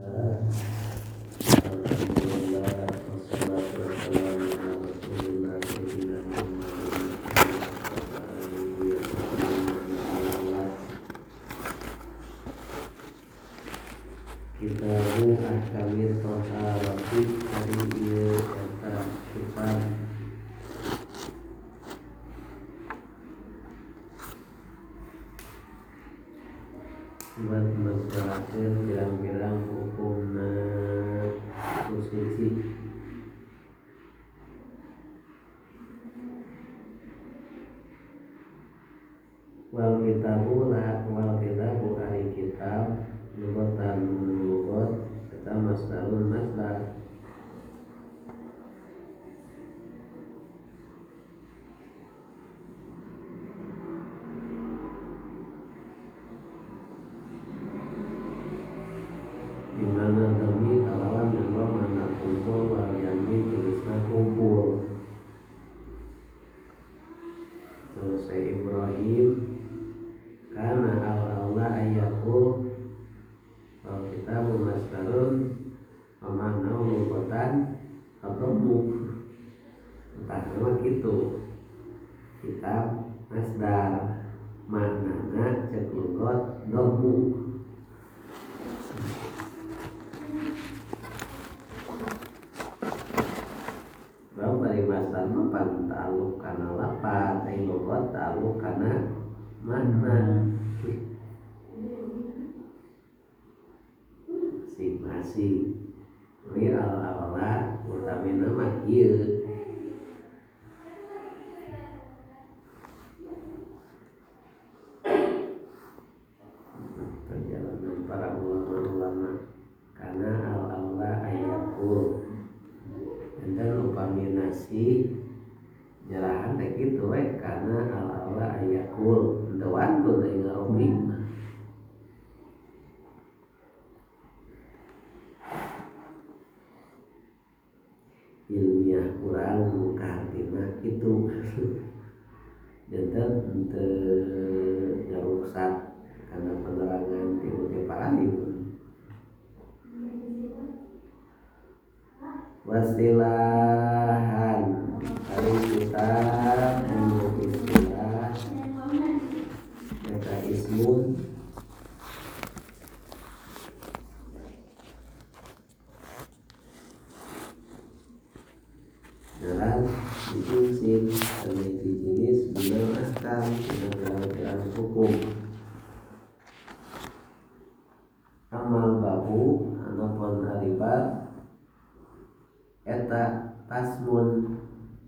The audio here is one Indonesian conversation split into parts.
Alhamdulillah wassalatu wassalamu ala rasulillah sayyidina Muhammadin wa alihi wa sahbihi. Kitabu ahkamit thaharati hari ieu eta kitab buat masyarakat bilang-bilang hukumna suci. Wal kitabu ari kitab lugatan lugat eta masdarun masdar di mana demi kalawan yang mana kumpul wal yanmi tulisna kumpul. Terus Ibrahim karena Allah ayakul wal kitabu masdarun pemana lugatan ketemu entah nama gitu kitab masdar maknana cek lugat domu. Bang dari masdar mah pan ta'alluq kana lafaz ai lugat ta'alluq kana makna. Masih li al-awla utamina mah ieu perjalanan para ulama karena al-awla ayakul dan upami nasi jelahan teh kitu we karena al-awla ayakul teu wantun ai ngarobi. Ilmiah kurang kartina kitu janten teu ngaruksak karena penerangan ti para ibu. Wasilahan ari kitab anu istilah eta ismun jalan diisin memiliki jenis bidang ahkam dengan hukum. Amal babu anapun haribab eta tasmun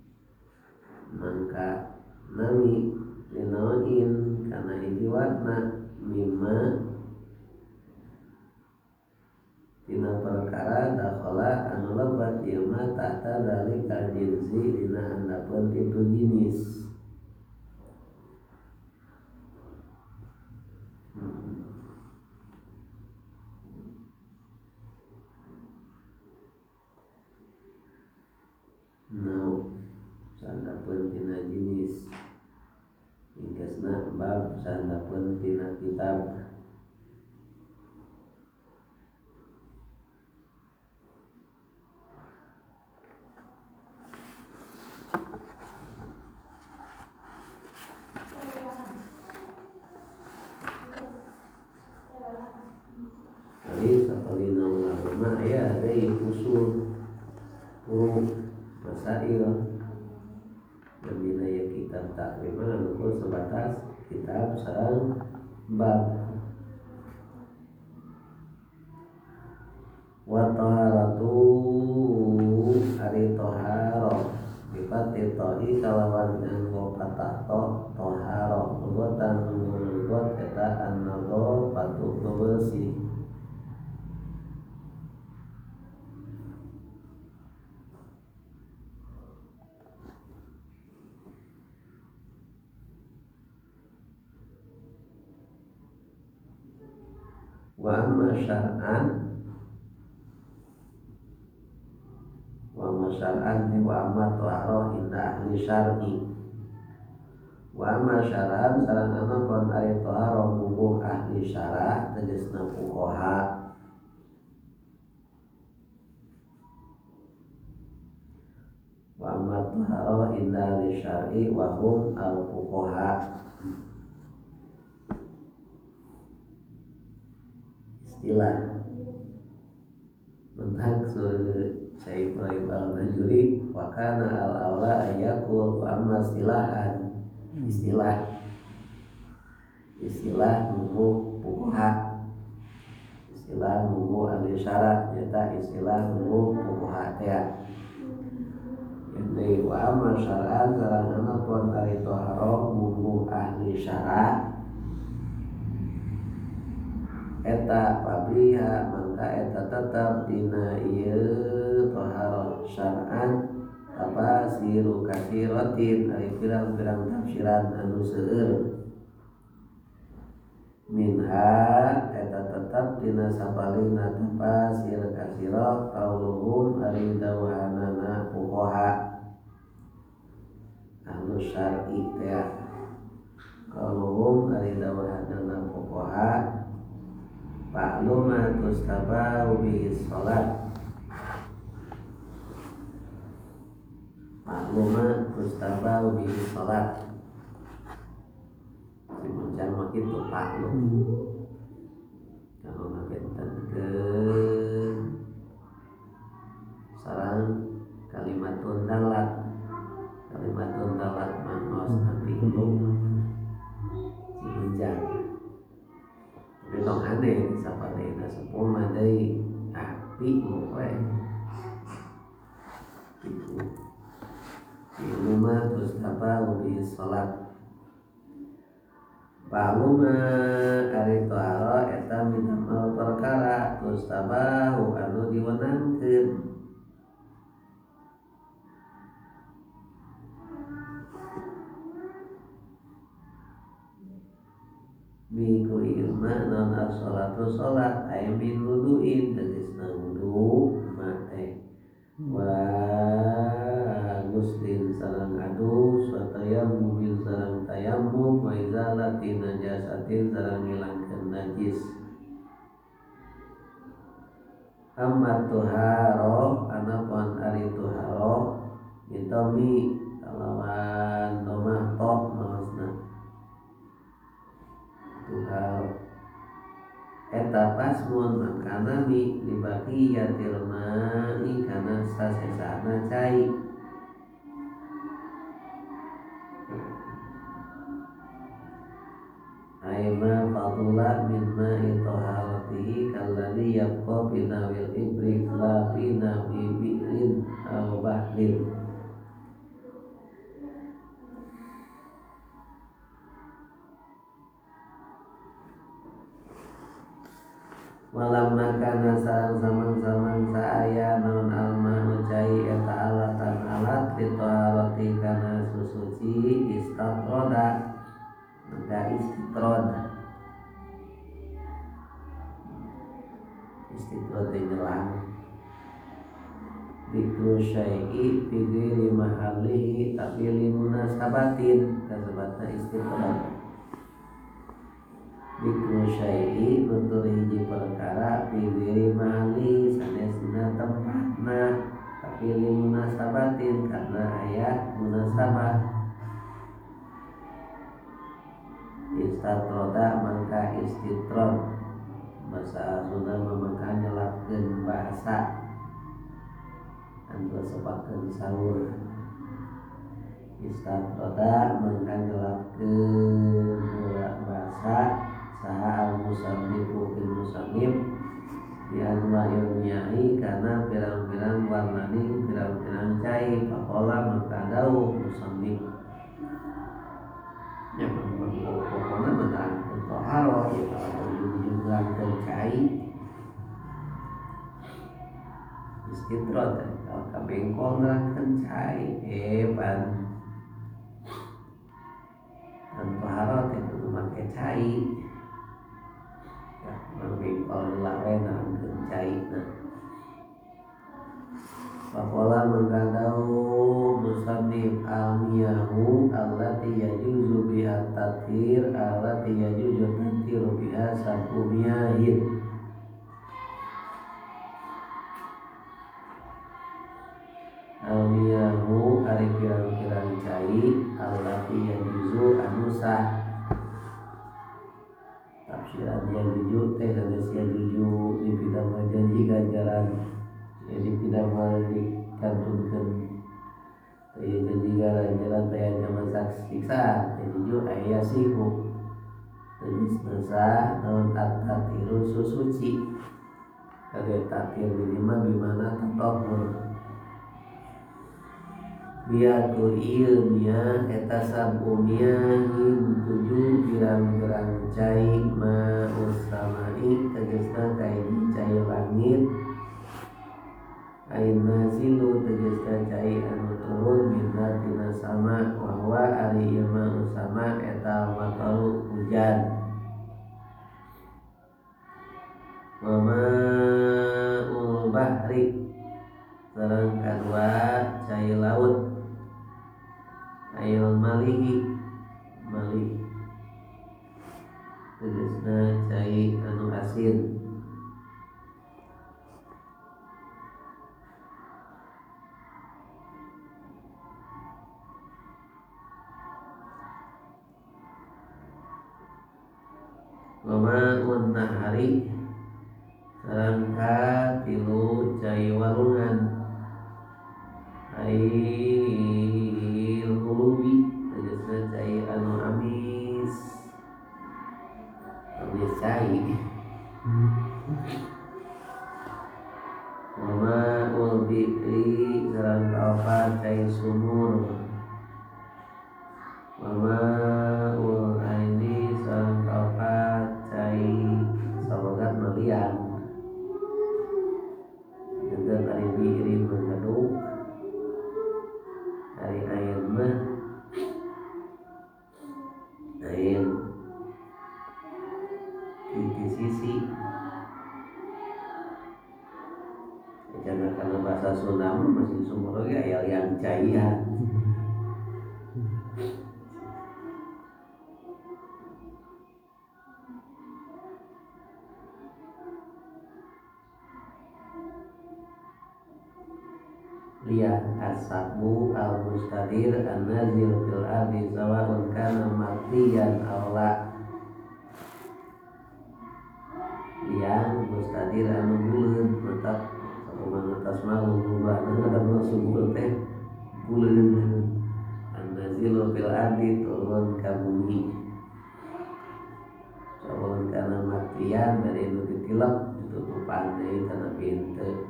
mangka nami linaoin karena ijiwatna mimma tina perkara dakhala anu lebat ieu mah tahta dalika jinsi dina handapeun itu jinis. Sandapeun tina jinis ingkasna bab sandapeun tina kitab. Jadi sakalina ulama aya deui usul masail namina kitab takriman anu sebatas kitab sareng bab. Wa taharatu ari taharah bifati ta'i kalawan nganggo patah ta taharah lugatan lugat eta an-nadhar patu bersih. Wa amma syar'an wa amma taharah inda ahli syar'i. Wa amma syar'an sarana kon ari taharah bubuh ahli syarah tegasna fuqaha tuharo inda li syar'i wa hum al-fuqaha. Istilah mentak Syekh Ibrahim al-Najuri wa kana al-aula ayakul wa amma istilahan istilah nunggu fuqaha, istilah nunggu ahli syara nyata istilah nunggu fuqaha teh. Jadi wa amma syar'an sarana pun ari tahara nunggu ahli syara eta pabiha mangka eta tetap dina ieu tahara syar'an apa siru kasiratin ari pirang-pirang tafsiran anu seueur. Minha eta tetap dina sapalina tafsir kasira qauluhum ari dawuhanana fuqaha ahlu syar'i teh. Qauluhum ari dawuhanana fuqaha Pakluma tustabahu bihi sholat. Pakluma tustabahu bihi sholat. Macam begitu paklum. Kalau ngagetan ke sarang kalimatun dalat manos nanti belum dimenjang. Tapi tong aneh sapadena sepuh madai api moe. Ilmu terus apa ubi salat. Paluma ari toaro eta minamal perkara terus tabahu anu diwenangkeun. Minggu ilma non as-sholatu sholat ayam min wudu'in tegas wudu mate wa guslin sarang adus wa tayammum sarang tayammum wa izalatin najasatin sarang ngilangkeun najis. Amma tuharo anapun ari tuharo mintomi kalawan domah top maksudna tuharo eta pasmun makana mi dibagi yatil ma'i kana sasesana cai. Aima fadula min ma'i taharatihi kalladhi yabqa binawil ibrik la binawi bi'rin aw bahlin. Walam makana sarang samang-samang saaya non alma ucai eta alatan alat ditoharoti kana susuci istatroda maka istitrod nyelang bikru syai'i bigiri mahalihi tapi limunasabatin kasebutna istitrod. Bikru syai'i nutur hiji perkara bigiri mahali sanesna tempatna tapi limunasabatin karena aya munasabah. Istatroda mangka istitrod bahasa Sunda mangka nyelapkeun bahasa anu sepakeun saur. Istatroda mangka nyelapkeun bahasa saha al-musannifu fil musannif di anwa ilmiyahi kana pirang-pirang warnani pirang-pirang cai faqala maka dawuh musannif nya pokokna menerangkeun toharo kita jumlahkeun cai istitrod kalau kabengkol nerangkeun cai ban dan toharo teh kudu make cai. Bengkol lawe nerangkeun caina. Faqala mangkadau musannif almiyahu allati yajuzu biha tathir allati yajuzu tathiru biha sabumiyahin. Almiyahu ari ari pirang-pirang cai allati yajuzu anu sah. Tafsiran yajuzu teh sanes yajuzu dipidamel janji ganjaran jadi pidamel dikantunkeun teh janji ganjaran teh masa siksaan yajuzu aya siku tenis sah naon at-tatiru susuci kage tatir minimal bimana tatahur biatu ieu nya eta sabumia him 7 pirang-pirang cai ma ustamai tegasna cai cai langit ain nazilu tegasna cai anu turun minna tina sama wa huwa ari ieu ma usama eta mataru hujan wa ma'ul bahri sareng kadua cai laut ayol malih tegasna cai anu asin wa ma'un nahari sareng tilu cai walungan ail hulubi tegasna cai anu amis cai wa ma'ul bi'ri sareng kaopat cai sumur wa ma'ul aini sareng kaopat cai sabogat malian janten ari bi'ri mengeduk ari air mah air di sisi jangan karena bahasa Sunda masih sumur lagi ayat yang cairan lihat ashabu al-mustadir an-nazil fil ardi sawa'un kana martiyan aw la yang mustadir anu buleun tetap sakumaha tasmaul ngubahna ada sumur teh buleun an-nazil fil ardi turun ka bumi sawa'un kana martiyan bari nu ditilep ditutupan deui kana pintu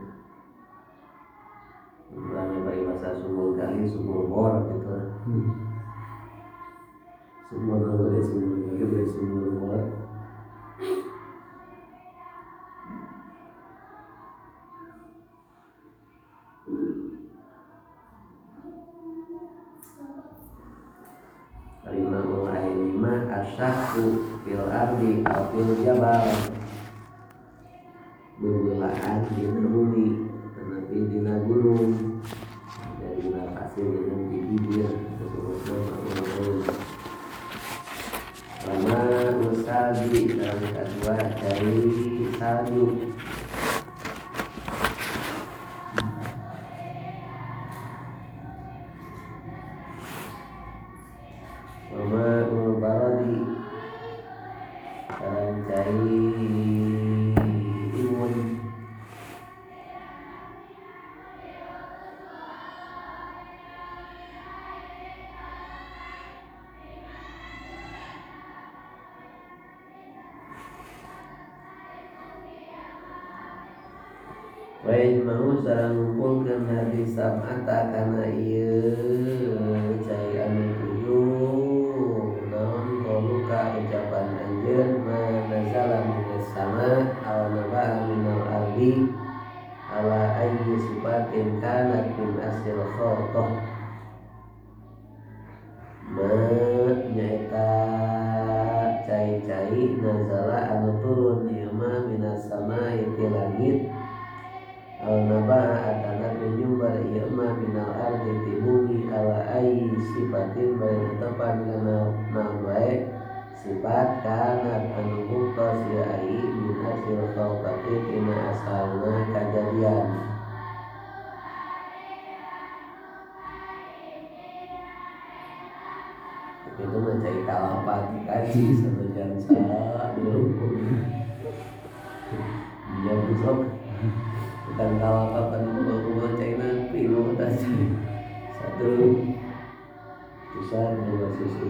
bukan bari bahasa sumur kali sumur bor gitu sumur kali sumur bor kalimah ailima asyaku fil ardi aw fil jabal bebelaan di bumi tetapi dina gunung dari dina pasir yang di bibir disebutna ma'ul lama usabi dalam kedua dari salju lama baradi dalam cari imun Wain mau sareng ngumpulkeun hadi sam'ata kana ieu cai anu tujuh naon qauluka ucapan anjeun ma nazala minas sama aw naba'a minal ardi ala ayyi sifatin kanat min asil khalqah ma nyaeta cai-cai nazala anu turun ieu mah minas sama ti langit al-naba'a atanat menyumbar ieu mah minal ardi ti bumi ala ayyi sifatin bae tepan kana naon wae sifat kanat anu muktas ya ai min asil khalqati tina asalna kajadian itu mencari kalapan dikaji satu jam dulu dia besok bukan kalapan bawa China pino tadi satu besar dua susu.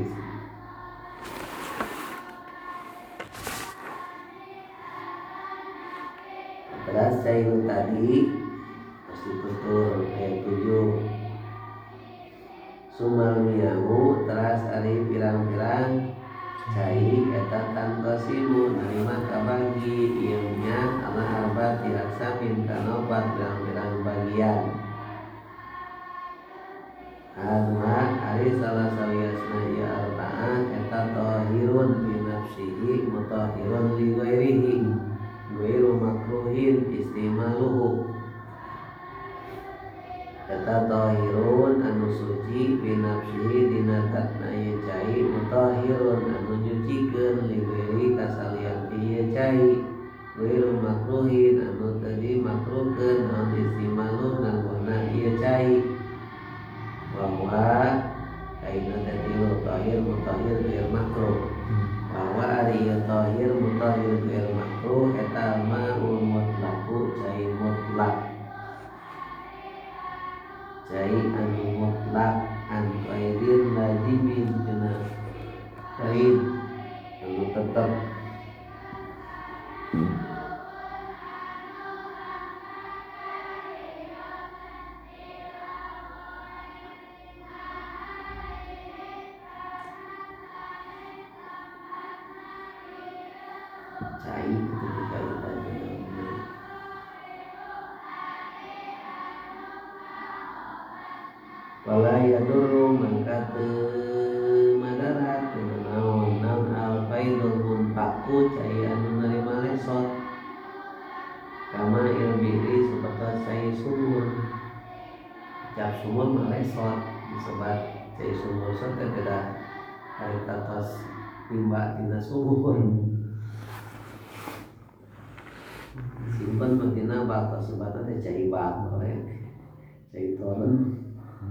Terus China tadi pasti tutur ayat 7 Sumal miyahu teras ari pirang-pirang cai eta tanpa simu nerima kabagi ieunya ala arba tiraksamin kana opat pirang-pirang bagian Adma ari salah saliasna ieu arba'ah eta tahirun bi nafsihi mutahhirun li ghairihi ghairu makruhin istimaluhu eta tahirun anu suci binafsihi dina zatna ieu cai mutahhirun anu nyucikeun li ghairi kasalian ieu cai ghairu makruhin anu teu dimakruhkeun naon istimalun nganggona ieu cai bahwa kaina teh tilu tahir mutahhir ghair makruh bahwa ari ieu tahir mutahhir ghair makruh eta ma'ul mutlaqu cai mutlak cai anu mutlak an qaidir lazimin cenah qaid anu tetep cai ketika kita wala yadurru mangka teu madarat naon al faidul munfaku cai anu narima lesot kama ilbiri seperti cai sumur cap sumur mah lesot disebut cai sumur teh beda harita tos timba tina sumur simpen matina bak sebutna teh cai bak cai toren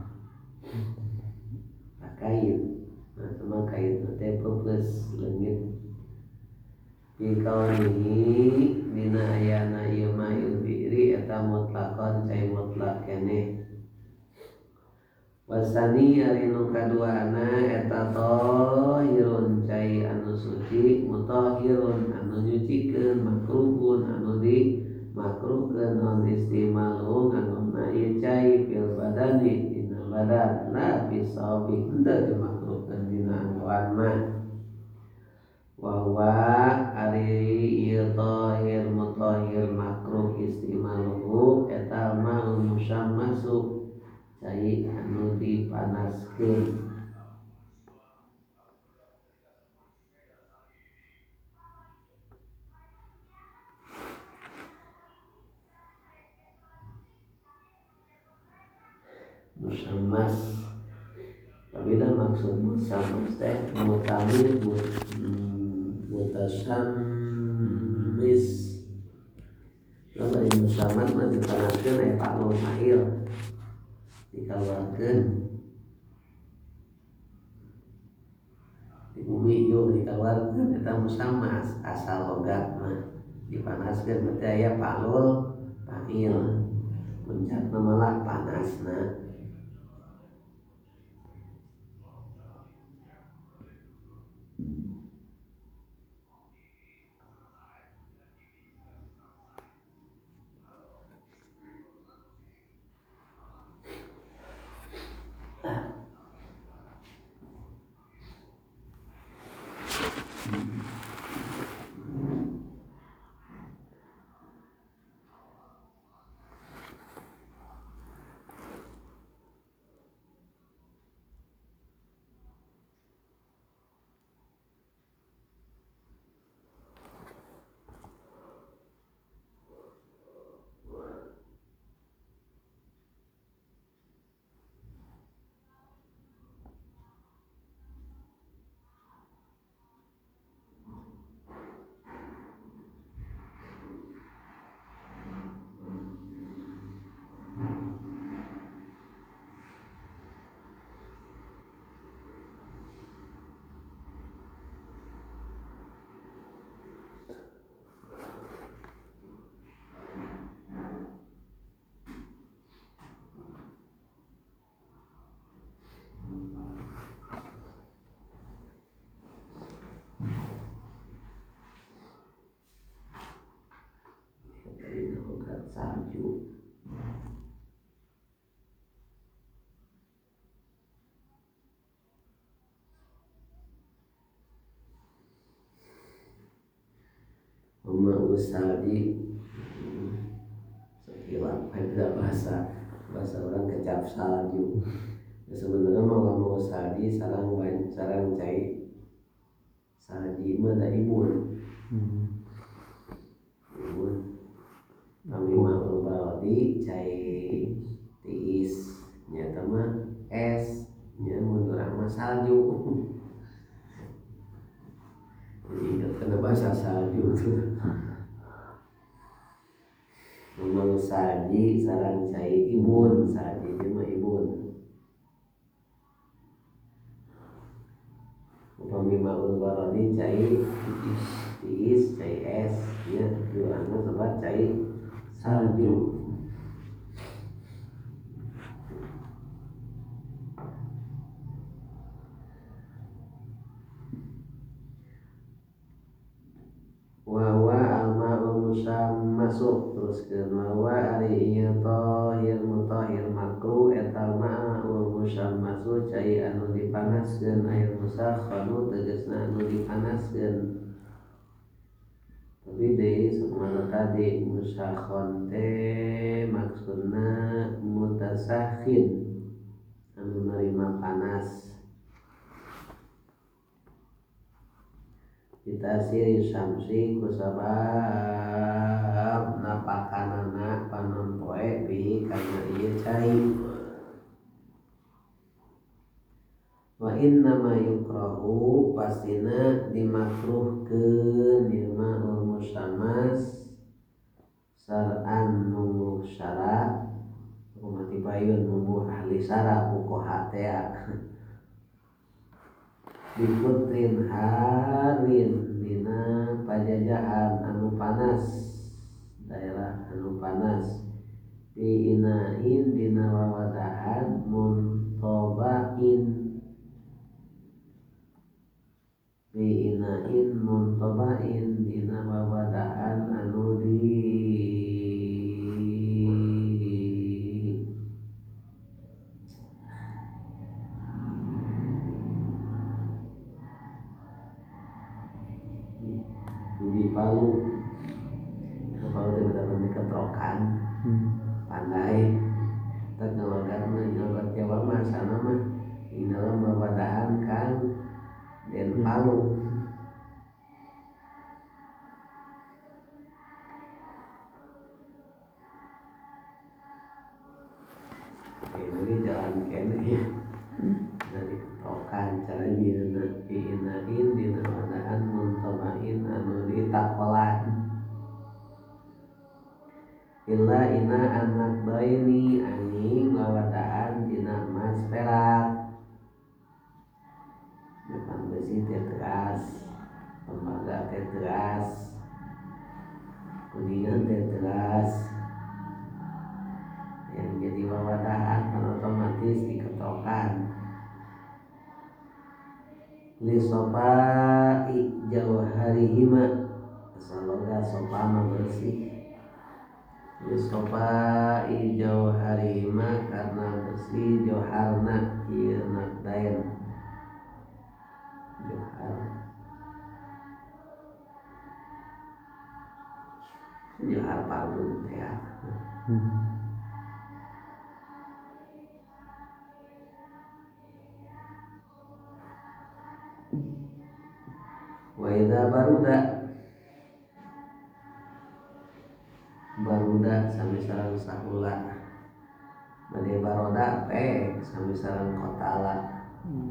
kain nah sama kain teh plus leungit fi kaunihi dina ayana ieu ma'il bi'ri eta mutlaqan cai mutlak keneh wasani ari nu kaduana eta tahirun cai anu suci mutahhirun anu nyucikeun makruhun anu di makruhkeun non istimalu nganonna ieu cai fil badani badan la bisabi henteu dimakruhkeun dina anggoan mah wa ari ieu tahir mutahhir makruh istimaluhu eta mah musammasu cai anu dipanaskeun musammas Apabila maksud musammas teh mutamil mutasammis kalau ini musammas mah dipanaskeun aya palul mahil dikaluarkeun di bumi yeuh dikaluarkeun eta musammas asal logat mah dipanaskeun berarti aya palul mahil puncakna malah panasna salju. Mama usalji sekilas ada bahasa orang kecap salju. Sebenarnya mau salji sarang cai salji mah da ibun. Ibun kami mau baladi cai tiis nya mah es nya mun urang mah salju. Jadi ingat kena bahasa salju tuh. Memang salji sarang cai ibun, salji itu mah ibun. Upami maul barodi cai tiis, cai es, ya jualnya sobat cai salju. Wawa alma'ul musammasuk teruskeun wawa ari ieu tahir mutahhir makruh eta ma'ul musammasu cai anu dipanaskeun air musakhkhanu tegasna anu dipanaskeun. Tapi deui sakmana tadi musakhkhon teh maksudna mutasakhin anu narima panas. Kita siri samsi kusabab napakanana panon poe bi karena ieu cai. Wa inna ma yukrahu pastina dimakruhkeun ieu mah musammas sar'an mumuh syara umati payun mumuh ahli syara fuqaha teh diputrin harin dina pajajahan anu panas daerah anu panas di inain dina wawadahan muntobain di inain muntobain dina wawadahan anu di Palu. Palu teh bener-bener ketrokan. Pandai. Tak ngalogat Jawa mah sana mah di dalam wawadahan kan den Palu. Ini jalan kene dari ketrokan cara dina diinain dina wawadahan muntobain anu ditakolan. Illa ina anak baini anjing wawadahan dina emas perak. Depan besi teh teras, tembaga teh teras, kuningan teh teras. Yang jadi wawadahan kan otomatis diketokan. Li sopai jauharihima saloga sopa mah bersih. Sopai jauharihima karena bersih joharna ieu nakdaen johar parun teh ya. Wa idza baruda sami sareng sahula. Bade baroda pek sami sareng kotala.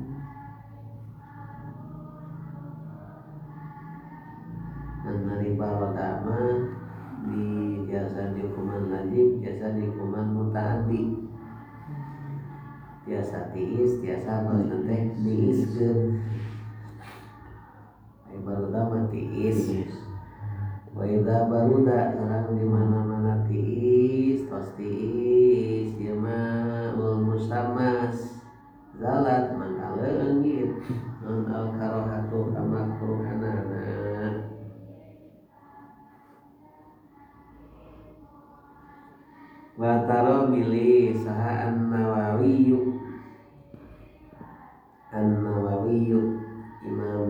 Nari baroda mah di biasa di hukuman wajib, biasa di hukuman mutaaddi. Biasa tiis, biasa bahasa teh diiskeun. Ai baroda mah tiis. Wa idza baruda sareng di mana-mana tiis, tos tiis ieu mah ul musammas zalat mangka leungit non al karahatu kamakruhanana. Wataro milih saha An-Nawawiyu Imam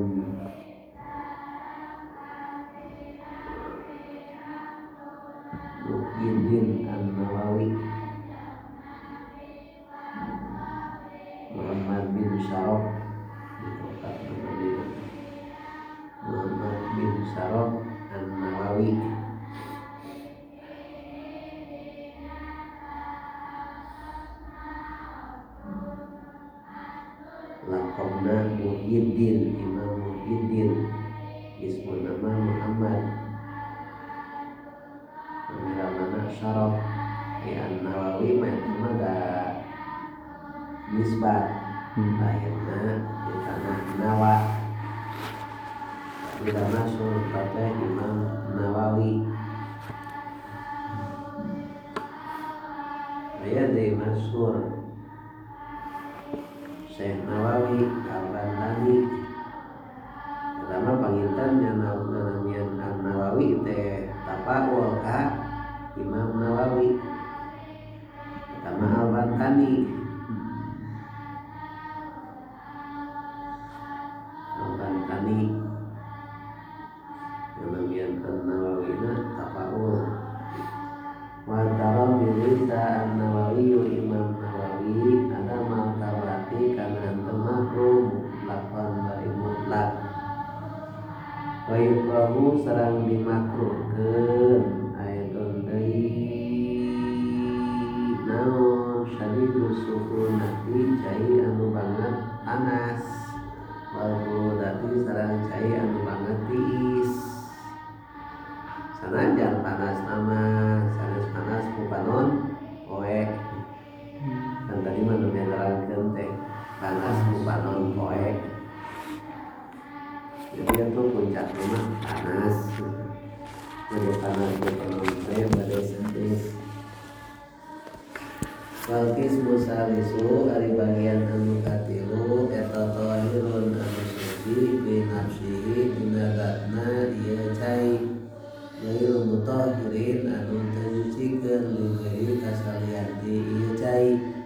Muhyiddin An-Nawawi Muhammad bin Syaraf Muhammad bin Syaraf An-Nawawi Laqabna Muhyiddin Imam Muhyiddin Ismu nama Muhammad Nama Syaraf An-Nawawi Mada nisbat lahirna di tanah Nawa tidak masuk pada Imam Nawawi ayat dari masyhur Syekh Nawawi Al-Bandani pertama pangintannya namanya An-Nawawi teh tapawul ka Imam Nawawi pertama Al-Bandani namanya An-Nawawi na tapawul wa tara bilisa An-Nawawi Imam Nawawi ada martabati kana makruh lakon dari mutlak wa yukrahu sareng dimakruhkeun ayatun deui naon syadidus sukunati cai anu banget panas wal burudati sareng cai anu banget tiis sanajan panas nama sanes panas kupanon poe kan tadi mah nu nerangkeun teh panas kupanon poe jadi itu puncaknya mah panas jadi panas kupanon poe bade sanes Walkis musalisu ari bagian anu katilu eta tahirun anu suci bi nafsihi dina zatna ieu cai Gairul mutahirin anu tenyucikeun li kasalian ti ieu cai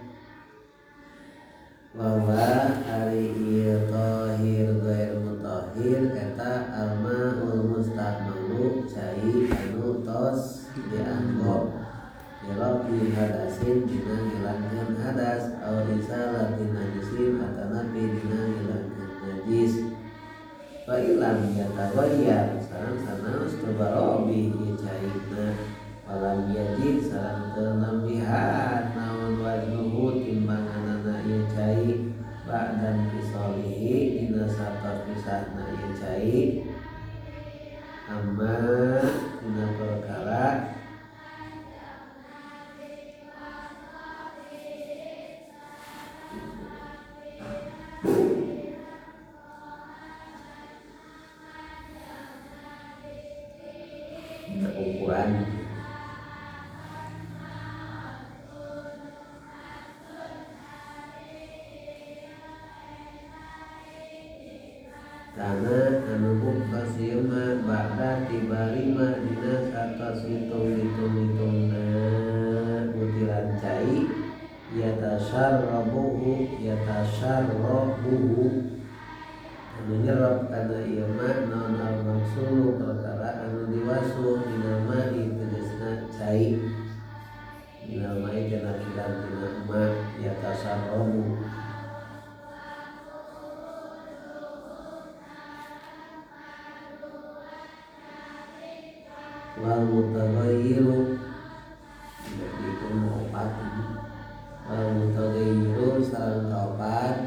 bahwa ari ieu tahir gair mutahhir eta al-ma'ul musta'malu cai anu tos dianggo Yalabi hadasin dina ngilangkeun hadas aw risalatin najisin atanapi dina ngilangkeun najis fa ilam yatabayyar sareng sanaos tabarobi cairna walam yajid sareng teu nambihan naon wajnuhu timbanganana ieu cai ba'dan fisalihi dina satos pisahna ieu cai amma dina perkara ukuran karena anu bukasima ba'da tibarima dina satos hitung-hitungna butiran cai yatasarrabuhu anu nyerap kana ieu mah naon al-maksulu perkara anu diwasu dina ma'i tegasna cai dina ma'i kana kiran dina ma yatasarrabu wal mutaghayyiru jadi itu opat wal mutaghayyiru sareng opat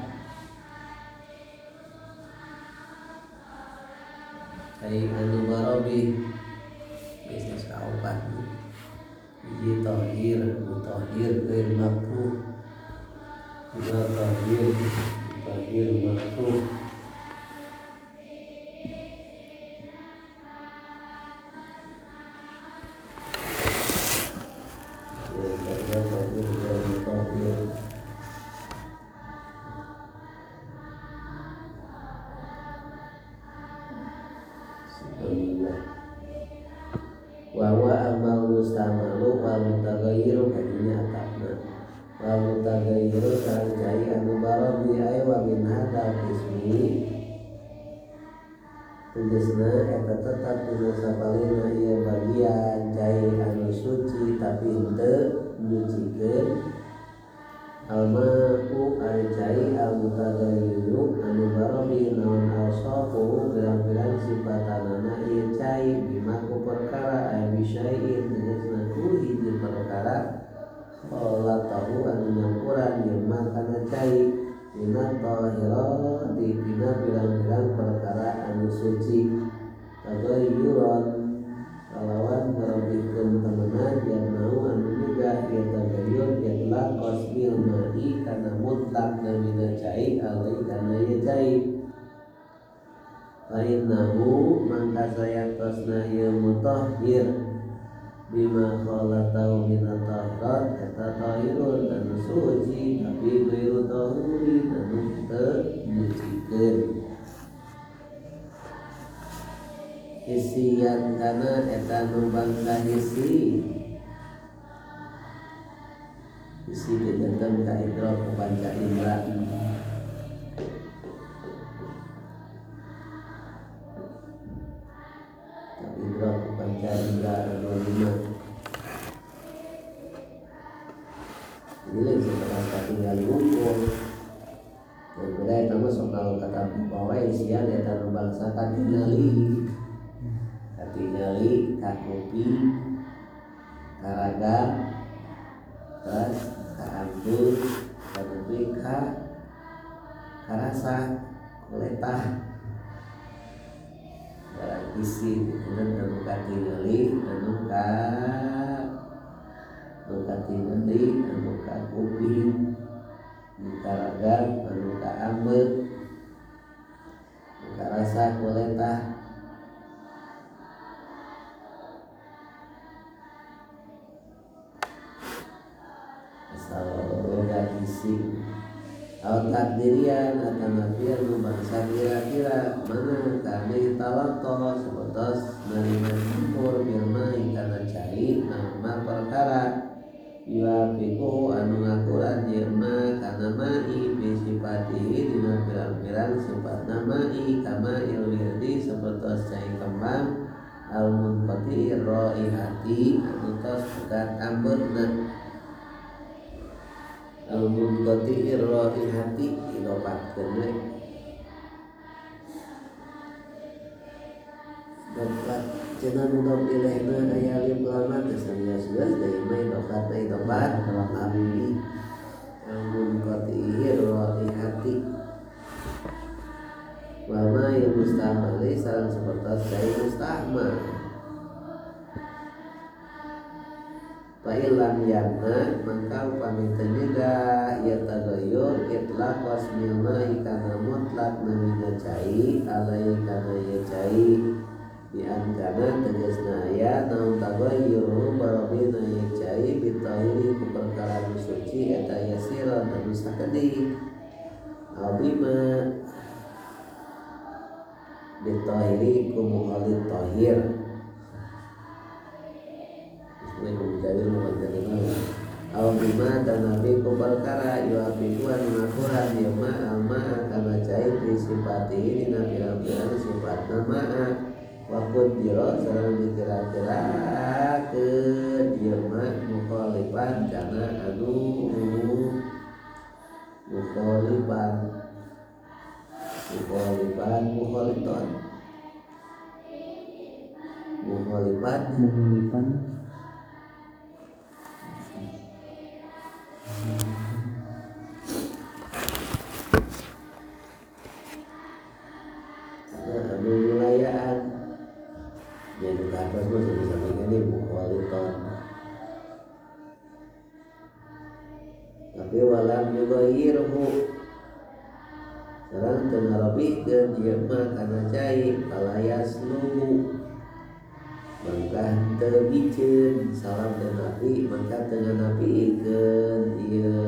cai anu barobi bisnis kaopat hiji tahir mutahhir gair makruh dua tahir makruh wa amal mustamalu wal mutaghayyiru naon tagayur sareng cai anu barabi aya wa min hadal ismi tegasna eta tetap dina sapalina ieu bagian cai anu suci tapi henteu nyucikeun alma'u ari cai al-mutaghayyir anu barabi naon awsafu pirang-pirang sifatanana ieu cai bimaku perkara aya bisyai'in tegasna ku hiji perkara Allah tahu anu nyampuran yeuma kana cai minat tahirat dina pirang-pirang perkara anu suci tagayyuran kalawan ngarobikeun temenan yang mau anu juga ieu tagayyur itlaq qasmil ma'i kana mutlak namina cai alai kana ieu cai fa innahu mangka sayatosna ieu mutahhir bima khalatahu minat tahirat eta tahirun anu suci tapi gairu tahurin anu teu nyucikeun isian kana eta nu bangsa isi kejantan ka idrok ku panca indra idrok ku panca indra anu lima ini setelah tinggal ngumpul dan beda eta mah sok kata bawa isian eta nu bangsa katingali kakopi karaga terus kaambut kakopi karasa kuletah barang isi kemudian anu katingali anu katingali anu kakopi karaga anu kaambut karasa kuletah salah isi awal takdirian atau nafian bangsa kira-kira mana kami talanto sebetos nerima campur bilmai karena cai nama perkara yuafiku anu ngakuran yema karena mai bisipatihi dina pirang-pirang sifat namai kama ilwirdi sebetos cai kembang al-munqati raihati anu tos pekat ambutna al-munqati raihati idopatkeun we dopat cenah mudhof ilaihna aya alif lam geus geus deui mah idopatna idopat abdi al-munqati raihati wa ma yustahmali sareng sapertos cai mustahmal fa'ilam yanna maka upami teniga ya tagayyur itlaq wasmil ma'i kana mutlak namina cai alai kana ya cai bi angkana tegasna aya naon tagayyur barabina ya cai bitahiri ku perkara suci eta yasiran anu sakedik abima bitahiri ku muhalid tahir Al-bima dan nabi ku perkara yuafiduan mengakuran yama al-ma'a kana cai disifati dina pirang-pirang sifat nama wakut jiro sareng dikira-kirakeun yama mukhalifan kana anu mukhalifan anu wilayaan jadi atas mah sampai ini mukhaliton tapi walam yughayirhu sareng teu ngarobikeun ieu mah kana cai palayas lugu mangka teu biceun salam dan nabi mangka teu nganapikeun ieu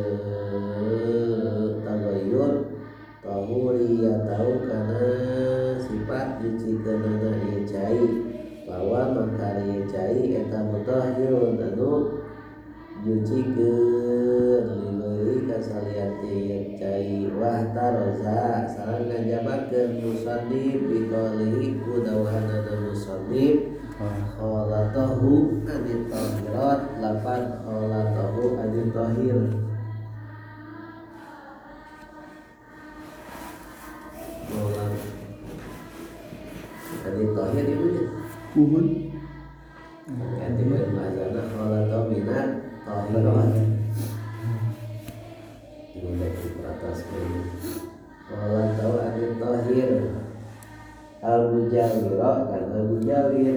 tagayyur tahuri ya tahu kana sifat nyucikeunana ieu cai bahwa mangka ieu cai eta mutahhirun anu nyucikeun lillahi wahtaroza sareng ngajabakeun musannif biqali ku dawuhanna musannif kholatahu anit tahirat lapan kholatahu anit tahir molan anit tahir itu ya Uhun. ganti bahasana kholatahu minat tahirat ini di atas ini kholatahu anit tahir al-mujawira karena mujawir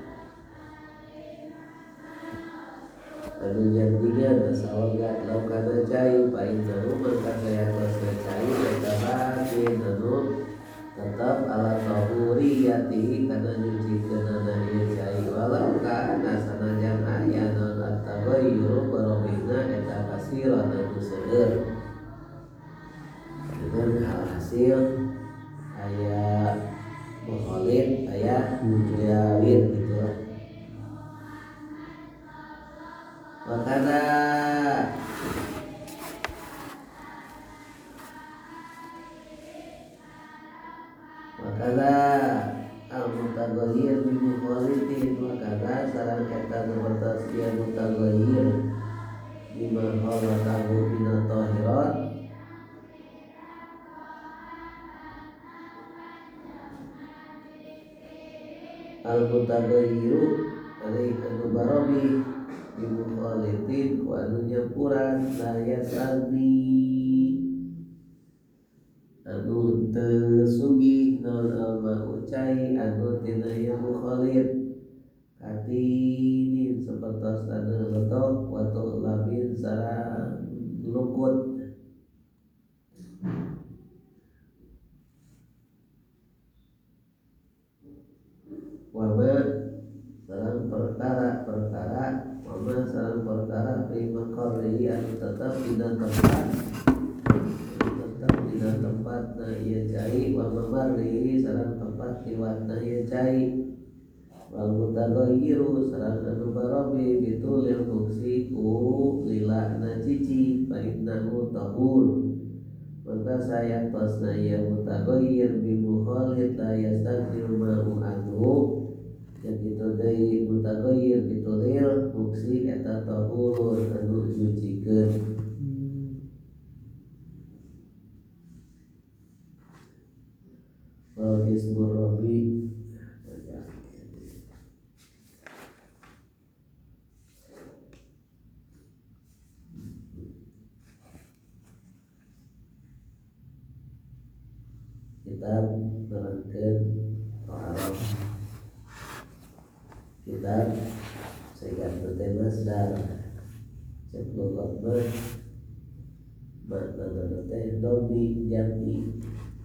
anu jantinya nasawagat laukana cai pain nahu maka saya kuasa cai eta batin anu tetap ala tahuriyati kana nyucikeunana ieu cai walau kana sanajan aya naon at-taghayyur barobina eta kasiran anu seueur dengan hasil aya mukhalid aya mujawir gitu lah. Makana al-mutaghayyir bi mukhalidin makana sareng eta seperti dia mutaghayyir bima khalaqahu min at-tahirat al-mutaghayyiru alaihi anu barobi ibu khalidin ku anu nyampuran saya sandi anu teu sugih naon alma ucai anu tina ibu khalid katinin sapertos anu letok watu labin sareng lukut wama sareng perkara wama sareng perkara fi maqarrihi anu tetep dina tempat na ieu cai wa mamarrihi sareng tempat liwatna ieu cai wal mutaghayyiru sareng anu barobi bitulil fungsi ku lilana cici fa innahu tahur maka saya tosna ieu mutaghayyir bi mukhalid la yastaghfiru ma'u anhu yang itu dari mutaghayyir bitulil fungsi eta tahur anu nyucikeun wal ismur rabbi kita menerangkan taharah kita sehingga bertemasdar sebelum Allah makna teh domi jami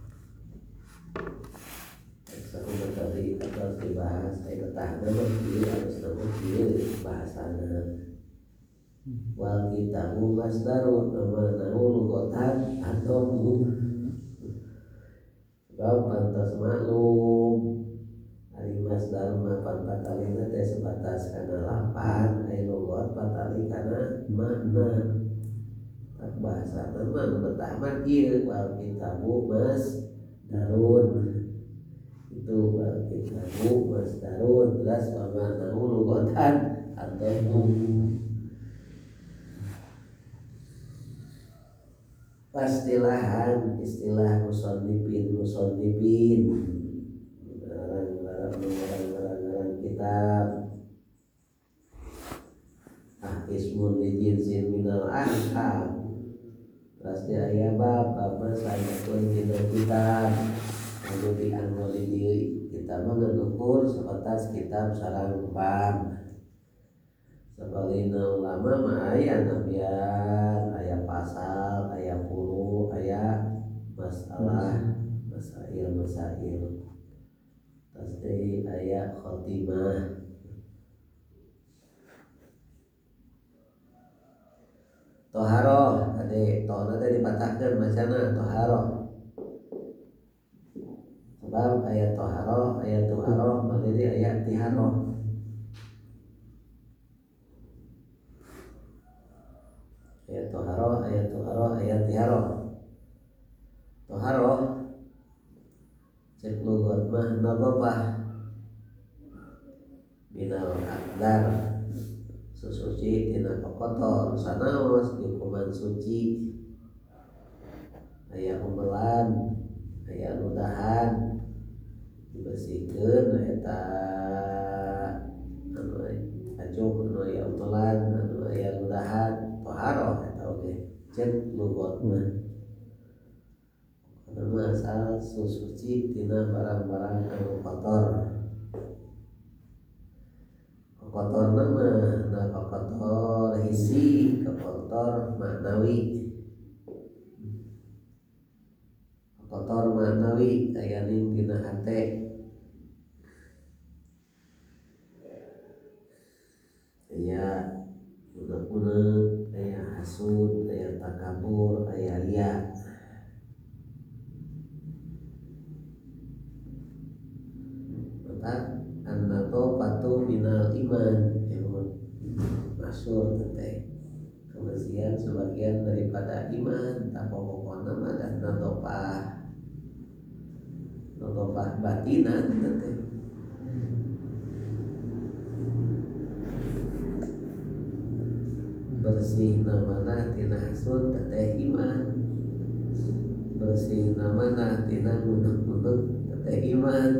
satu materi atas dibahas saya ketahuan nama harus nama bahasana wal kitabu masdarun nama nahu lugotan atau sebab pantas maklum hari masdar mapan patalina teh sebatas kana lapan ai lugot patali kana makna tak bahasa nama pertama ieu wal kitabu masdarun itu wal kitabu masdarun jelas wa nahu lugotan atau pastilahan istilah musannifin ngarang kitab ismun li jinsin minal ahkam pasti aya bab saya pun dina kitab anu dianggoli di kitab mengukur sebatas kitab sareng bab sabalina ulama mah aya nabian aya pasal aya puru aya masalah masail pasti aya khotimah toharoh tadi tohna teh dipatahkeun macana toharoh sebab aya toharoh aya tuharoh mangeri aya tiharoh aya toharoh aya tiharoh nadhafah minal akdar susuci tina kotor sanaos hukuman suci aya umelan aya ludahan dibersihkeun eta anu acuh anu aya umelan anu aya ludahan toharoh eta oge cek lugot mah karena asal susuci tina barang-barang anu kotor kotor nama nah kotor hisi kotor maknawi kotor maknawi aya ning dina hate aya unek-unek aya hasud aya takabur aya ria maka an-nadhafatu minal iman masyhur teh kebersihan sebagian daripada iman tak pokokna mah dan nadhafah batinan teh bersih namana tina hasud teh iman bersih namana tina unek-unek teh iman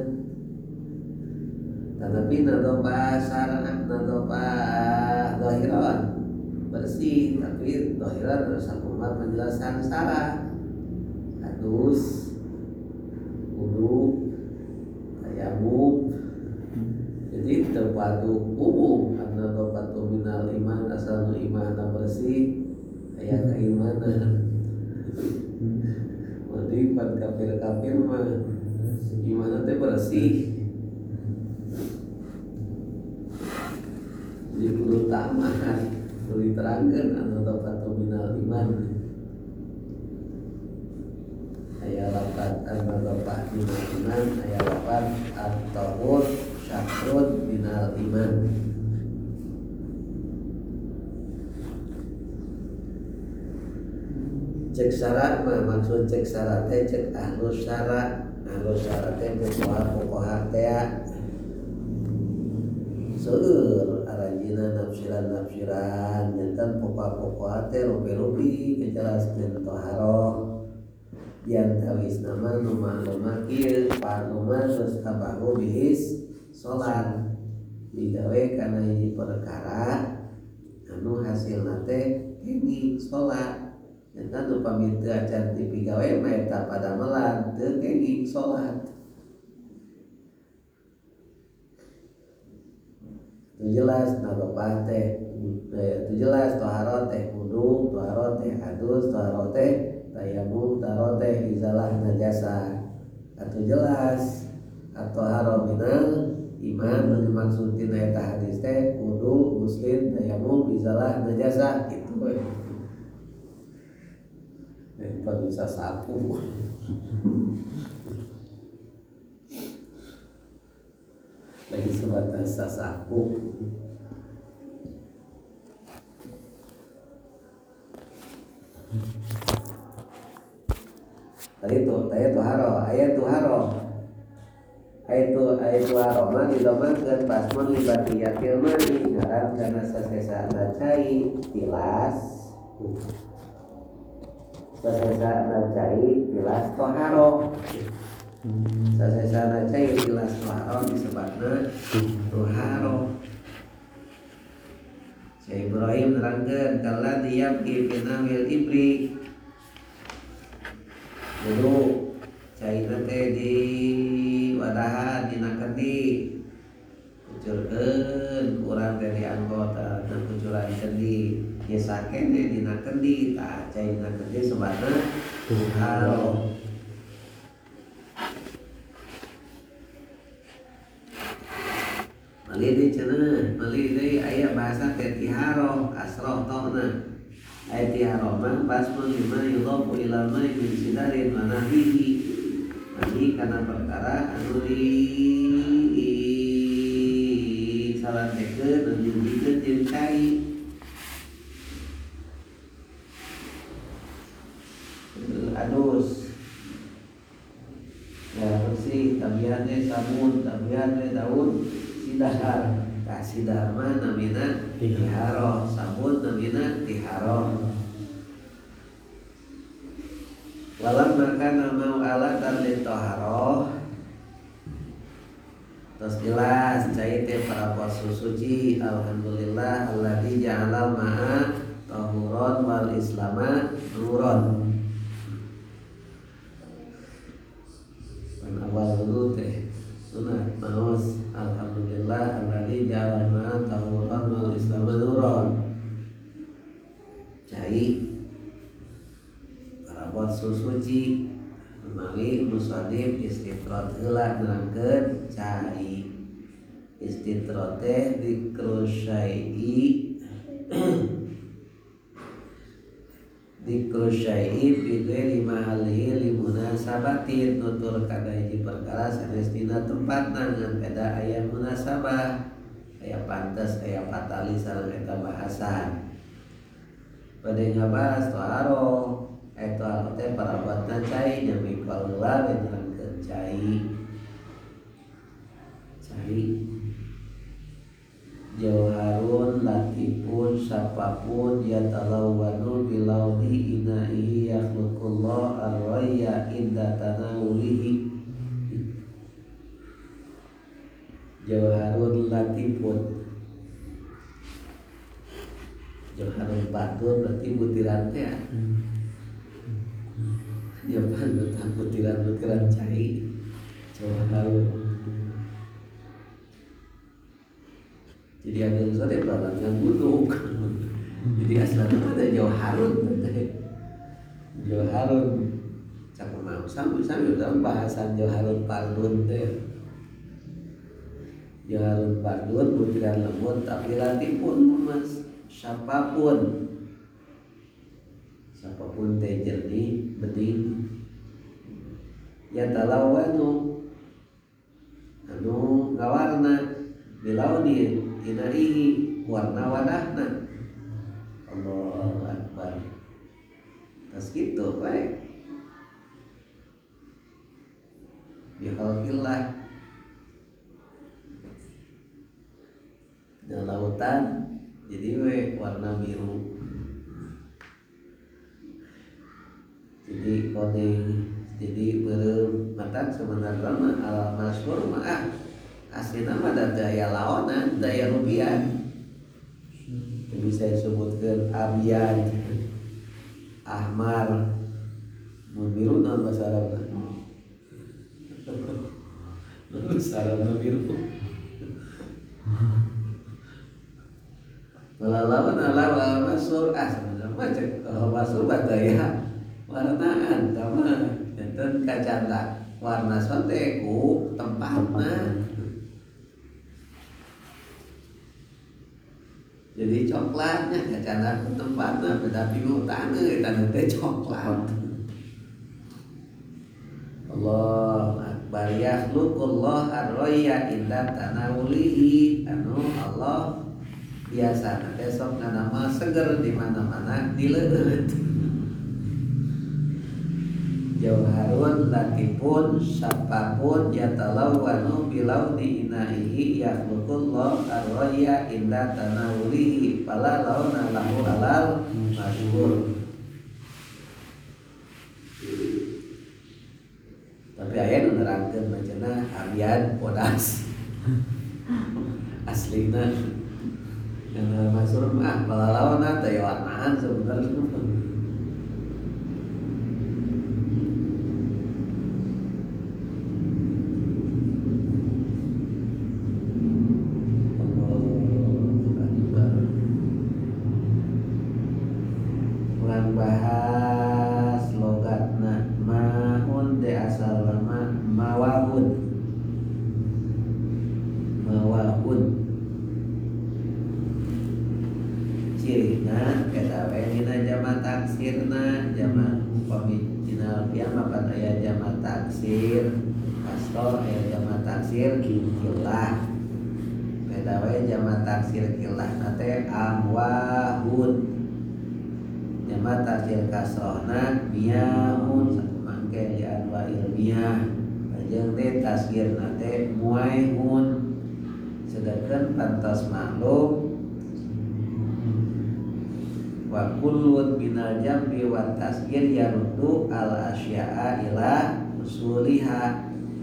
tetapi nadhafah syar'an nadhafah zahiran bersih tapi zahiran harus sakumaha penjelasan syara adus wudu tayamum jadi terpadu umum an-nadhafatu minal iman asal nu iman bersih aya keimanan mandi pan kafir mah iman teh bersih jadi kudu tamahan kudu diterangkeun an-nadhafatu minal iman aya lapan an-nadhafah minal iman aya lapan at-tahur syahrun minal iman cek syarat mah maksud cek syarat teh cek ahlus syarat teh pokoha teh seueur aranjeunna nafsiran janten pokok-pokok teh rupi-rupi kejelaskeun toharoh diantawis nama nu maklum kieu panuman geus tabahu bihis salat digawe kana hiji perkara anu hasilna teh kenging salat janten upami teu acan dipigawe mah eta padamelan teu kenging salat itu jelas nadhafah teh itu jelas toharoh teh wudu toharoh teh adus toharoh teh tayamum toharoh teh izalah najasa itu jelas at-toharoh minal iman nu dimaksud tina eta hadis teh wudu muslim tayamum izalah najasa kitu we daripada bisa sapu lagi sebatas sasapu tadi tuh ayat tuharo mah didomakeun pasmun libatiyatil mani ngaran kana sasesana cai tilas toharo sasesana cai tilas toharo disebutna toharo Syekh Ibrahim nerangkeun kala diyabki pinamil ibri dulu cairna teh di wadahan dina kendi kucurkeun urang dari anggota dan kucuran kendi ieu sakene dina kendi tah cairna kendi sebutna tuharo malih cenah malih deui aya bahasa teh tiharo asroh tona aya tiharo mah basmun lima yudhafu ila mai min sidarin wa nahwihi mani kana perkara anu di salantekeun anu dijieun jeung cai adus ya bersih tabiannya sabun tabiannya daun sidahar kasidar mah namina tiharo sabun namina tiharo walam makan mau alat dan toharoh. Terus jelas cai teh para puasa suci alhamdulillah alladzi ja'alal ma'a tahuron wal islama nuron. Pan awal dulu teh sunat maos alhamdulillah alladzi ja'alal ma'a tahuron wal islama nuron. Cai para puasa suci mari musannif istitrat heula nerangkeun cai istitrat teh dikru syai'i dikru syai'i fi ghairi mahallihi li munasabatin nutur kana hiji perkara sanes dina tempatna ngan beda aya munasabah aya pantes aya patali sareng eta bahasan bade ngabahas toharo itu teh para buatna cai nyami kalula nerangkeun cai jauharun latifun sapapun yatalawwanu bilaudi inaihi yakhluqullah arwaya inda tanawulihi jauharun latifun jauharun batur berarti butiran teh ya kan tentang butiran-butiran cai jauharun jadi ada sore balangan buduk jadi asalnya ada jauharun jauharun cakap mau sambil dalam bahasan jauharun pardun teh jauharun pardun butiran lembut tapi latipun mas siapapun teh jernih bening ya talawanu anu ngawarna bilauni inaihi warna wadahna Allahu akbar tas kitu bae bi khalqillah dan lautan jadi we warna biru jadi kuning jadi beureum mata sebenarnya mah al masyhur mah aslinya mah ada daya lawanan daya rubian bisa disebutkan abian ahmar mun biru naon bahasa Arabna bahasa Arabna biru lawan ala masyhur sebenarnya mah cek kalau masyhur daya warnaan sama dan kacanda warna sonte ku tempatna jadi coklatnya kacanda ku tempatna beda bingung tangeu eta teh coklat Allah akbar yakhluqullah ar-raya inda tanawulihi anu Allah biasa besok nama seger di mana-mana dileut jauharun latifun sapapun yatalawwanu bilauni inaihi yakhluqullah arwaya inda tanawulihi fala launa lahu alal masyhur tapi aya nu nerangkeun macana abian podas aslina yang masyhur mah fala launa teh warnaan sebenarnya bahas logatna mahun de asal lama mawahun cirina kata dina jama taksirna jama upami dina kiamat pada aya jama taksir kastor aya jama taksir kilah kata jama taksir kilah nate amwahun jama taksir kasrohna miyahun satu mangke di anwa ilmiah jeung teh tasgirna teh muaihun sedangkan pantas maklum wa kullun minal jambi wa tasgir yaruddu al asya'a ila usuliha.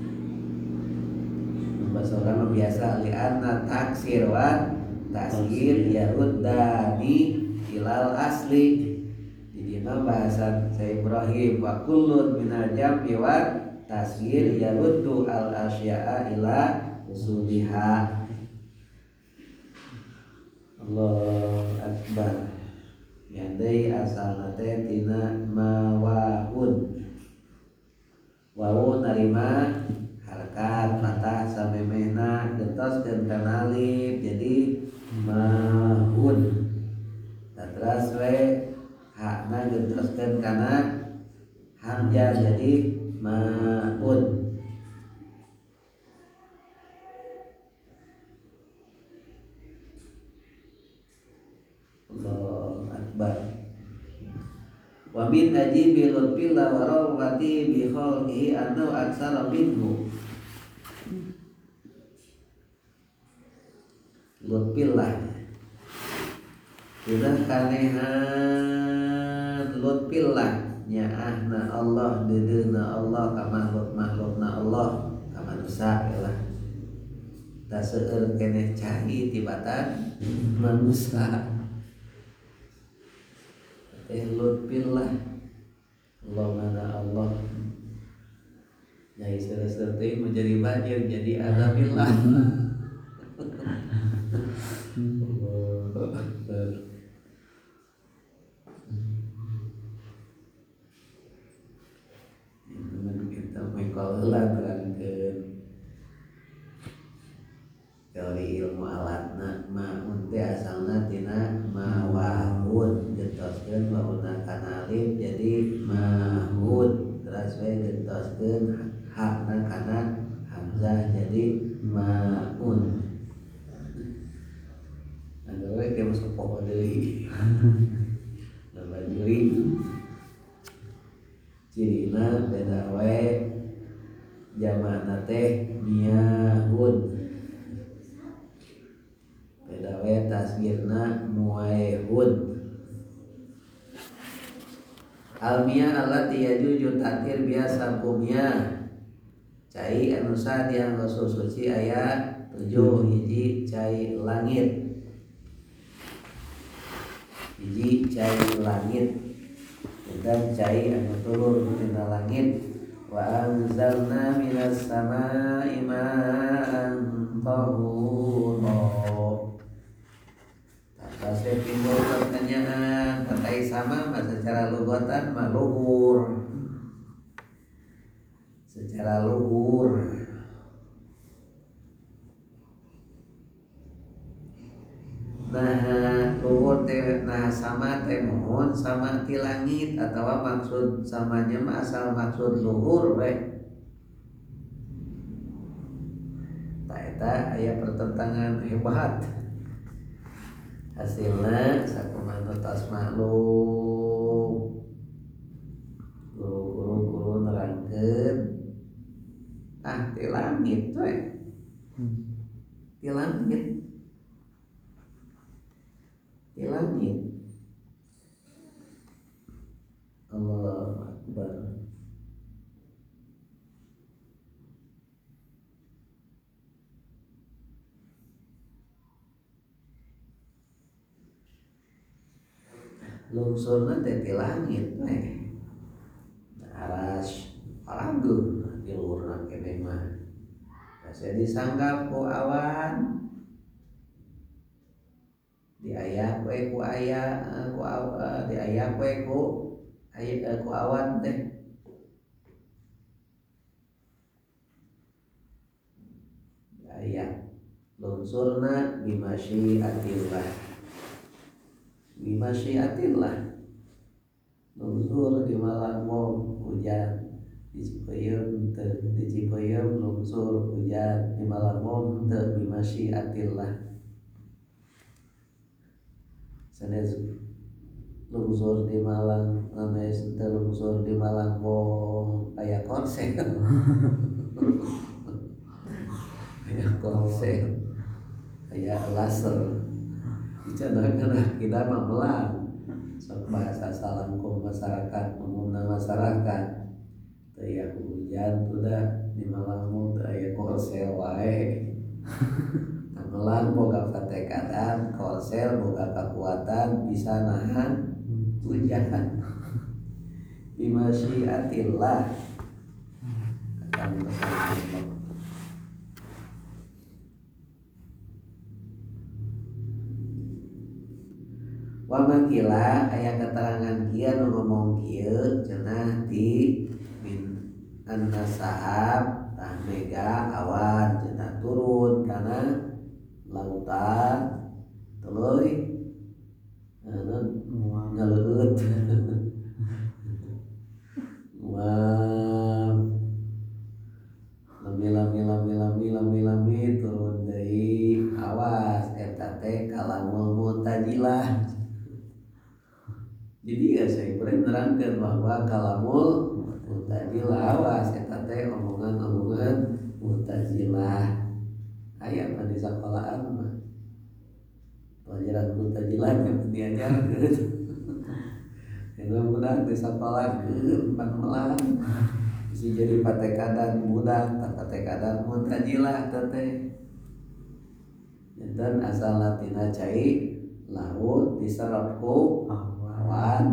Bahasa orang biasa li'anna taksir wa tasgir yaruddani ilal asli. Jadi bahasa saya Ibrahim wa kullun minal jambi wa tasgir yaruddu al asya'a ila usuliha. Allahu akbar. Yandai asalna teh tina mawahun. Wawu narima harakat patah samemehna gentoskeun kana alif jadi mahun. Terus we hakna gentoskeun kana hamzah jadi maun. Allahu akbar. Wa min ajibi lutfillah wa rawati bi khalqihi annahu aksara minhu. Lutfillah sudah kanehan lutfillah nyaahna Allah dedeuna Allah ka makhluk-makhlukna Allah ka manusia lah. Da seueur keneh cai tibatan manusia. Lutfillah Allah mana Allah nyai seueur teh menjadi banjir jadi azabillah. Allahu akbar. Kita mengkol heula terangkeun teori ilmu alatna ma'un teh asalna tina mawahun gentoskeun wauna kana alif jadi mahun terus we gentoskeun hakna kana hamzah jadi ma'un. Anu we teh masuk pokok deui. Nama juri cirina beda we jamakna teh miyahun. Beda we tasgirna muaihun. Almiyah allati yajuju takdir biasa kumiyah cai anu sadiang suci ayat 7 hiji cai langit. Hiji cai langit dan cai anu turun tina langit. Wa anzalna minas samaa'i ma'an tahura. Saya timbul pertanyaan terkait sama secara lugatan mah luhur. Secara luhur. Nah, luhur teh nah sama teh mohon sama ti langit atawa maksud samanya mah asal maksud luhur we. Ta eta aya pertentangan hebat. Hasilna sakumaha tos maklum guru-guru nerangkeun ti langit we ti langit Allahu akbar. Lungsurna teh ti langit we. Aras palanggeung di luhurna keneh mah. Asa disanggap ku awan. Diayak we ku aya diayak we ku awan teh. Diayak lungsurna bimasyiatillah. Bimasyiatillah lungsur di malam hujan di Cipayung teu di Cipayung lungsur hujan di malam teu bimasyiatillah. Sanes lungsur di Malang sanes teu lungsur di Malang aya konser. aya korsel aya laser dicanangkeun kita mah melang sok bahasa salangkung masyarakat umumna masyarakat teu aya hujan tuh dah di Malang teu aya korsel wae melang boga katekadan korsel boga kekuatan bisa nahan hujan bimasyiatillah akan tersebut. Wa makila aya keterangan kieu nu ngomong kieu cenah di min an-nasahab tah mega awan cenah turun kana lautan tuluy ngaleueut wah lami turun deui awas eta teh kalamul mutajilah. Jadi ya saya kurang menerangkan bahwa kalamul mutajilah awas eta teh omongan-omongan mutajilah aya mah di sekolahan mah pelajaran mutajilah yang diajarkeun eta budak di sekolahan pan melang bisa jadi patekadan budak tah patekadan mutajilah teh dan asal latina cai laut diserap ku awan.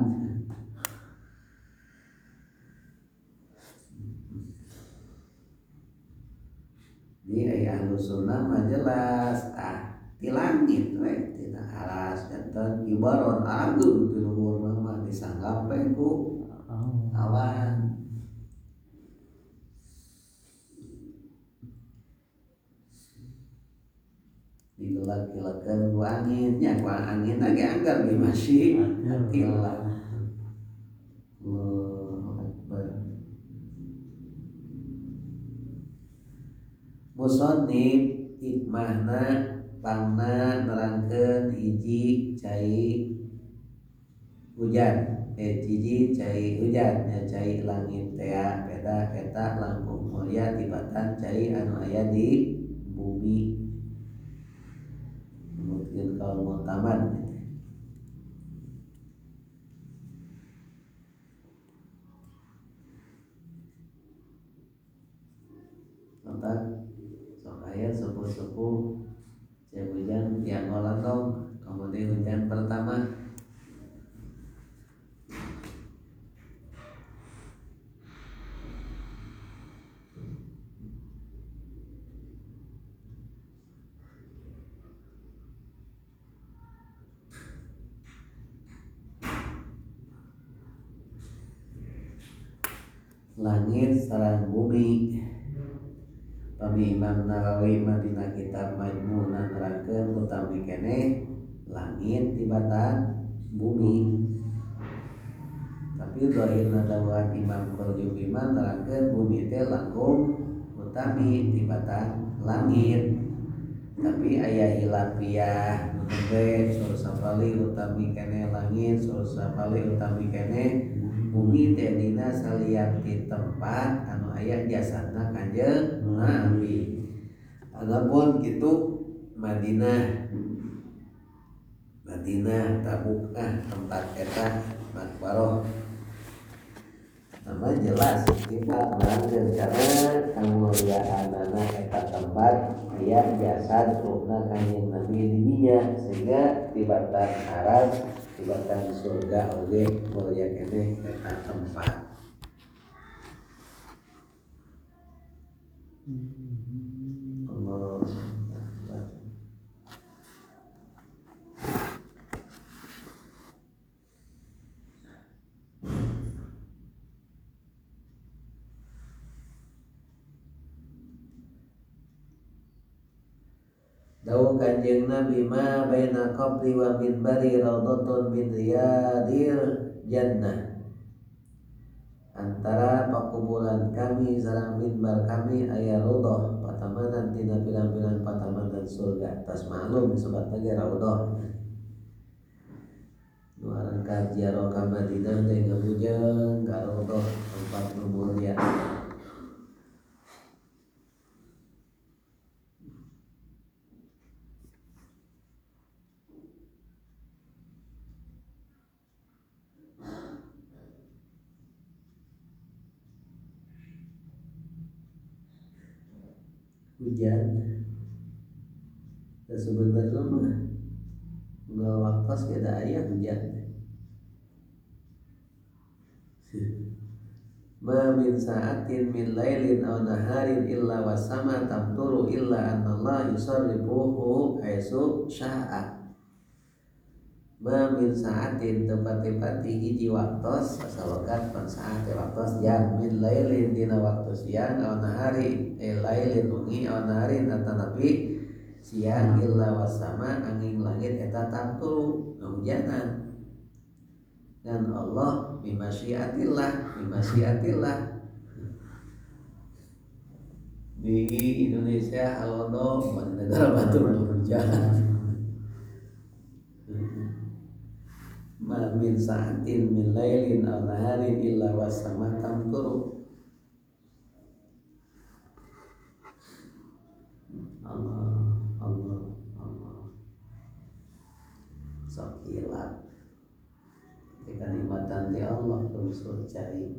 Di aya ahlu sunnah mah jelas di langit we tina aras janten ibarat agung di luhur mah disanggap we ku awan. Digelak-gelakeun ku angin nya ku angin lagi anggar di masyiatillah. Musannif hikmahna pangna nerangkeun hiji cai hujan hiji cai hujan nya cai langit teh beda eta langkung mulia tibatan cai anu aya di bumi mungkin kalau mau taman nonton sok aya sepuh-sepuh cai hujan yang ngolandong kemudian hujan pertama langit sareng bumi. Pami Imam Nawawi Madinah kitab Majmu' nerangkeun utami keneh langit tibatan bumi. Tapi dhahirna dawuhan Imam Qurtubi mah nerangkeun bumi teh langkung utami tibatan langit. Tapi aya hilafiah teh sur sapali utami keneh langit sur sapali utami keneh bumi teh dina salian ti tempat anu aya jasadna Kanjeng Nabi. Adapun kitu Madinah Tabuk tempat eta makbaroh nama jelas kita nerangkeun karena kamuliaanna eta tempat aya jasad ruhna Kanjeng Nabi di dinya sehingga tibatan aras tibatan surga oge mulia keneh eta tempat. Allah Dawuh Kanjeng Nabi ma baina qabri wa minbari raudhatun min riyadil jannah. Antara pakuburan kami sareng minbar kami aya raudhah patamanan tina pirang-pirang patamanan surga. Tas maklum disebut lagi raudhah. Nu aran ka ziarah ka Madinah teh ngabujeng ka raudhah tempat nu mulia. hujan. Dan sebenarnya mah nggak waktu beda ayah hujan. Ma min sa'atin min lailin aw naharin illa wasama tamturu illa anallah yusarrifuhu haitsu sya'a. Ma min sa'atin tepati-pati hiji waktos asalokat pan saat waktos jam min lailin dina waktu siang aw nahari lailin wengi aw naharin atanapi siang illa wasama angin langit eta tamturu hujanan. Dan Allah bimasyiatillah di Indonesia halodo negara batu hujan. Ma min sa'atin min lailin aw naharin illa wasama tamturu. Allah sok hilang kenikmatan di Allah unsur cai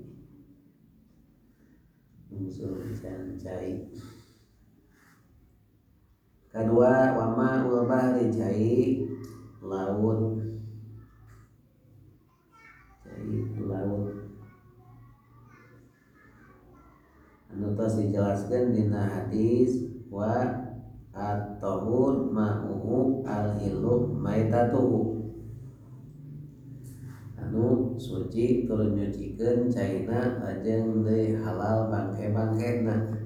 kedua wama ul bahri cai laut anu tos dijelaskeun dina hadis wa at-tahur ma'uhu al-hilu maitatuhu. Anu suci turun nyucikeun caina ajeng deui halal bangke-bangkena.